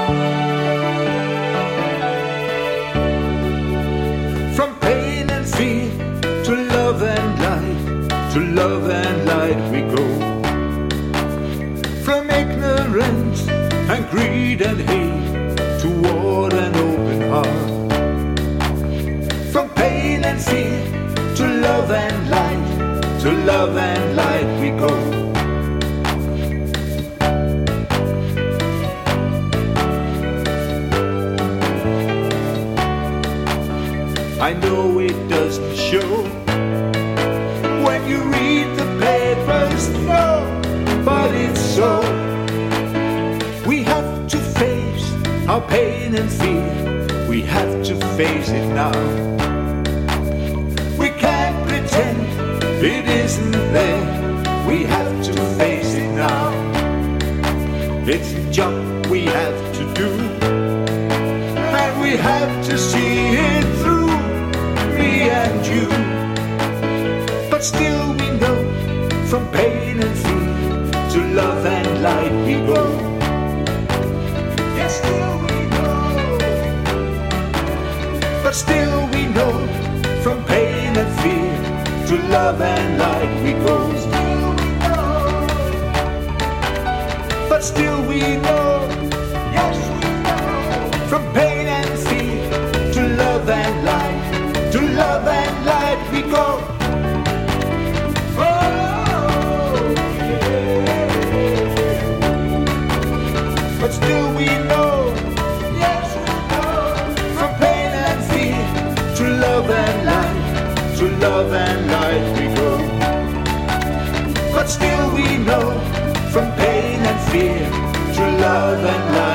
From pain and fear to love and light, to love and light we go. From ignorance and greed and hate toward an open heart. From pain and fear to love and light, to love and light we go. I know it doesn't show when you read the papers, no, but it's so. We have to face our pain and fear, we have to face it now. We can't pretend it isn't there, we have to face it now. It's a job we have to do, and we have to see it through, me and you. But still we know, from pain and fear to love and light we go. Yes, still we know. But still we know, from pain and fear to love and light we go. Still we know. But still we know. Yes, we know. From pain and fear to love and light, to love and light we go. But still we know, yes we know, from pain and fear to love and light, to love and light we go. But still we know, from pain and fear to love and light.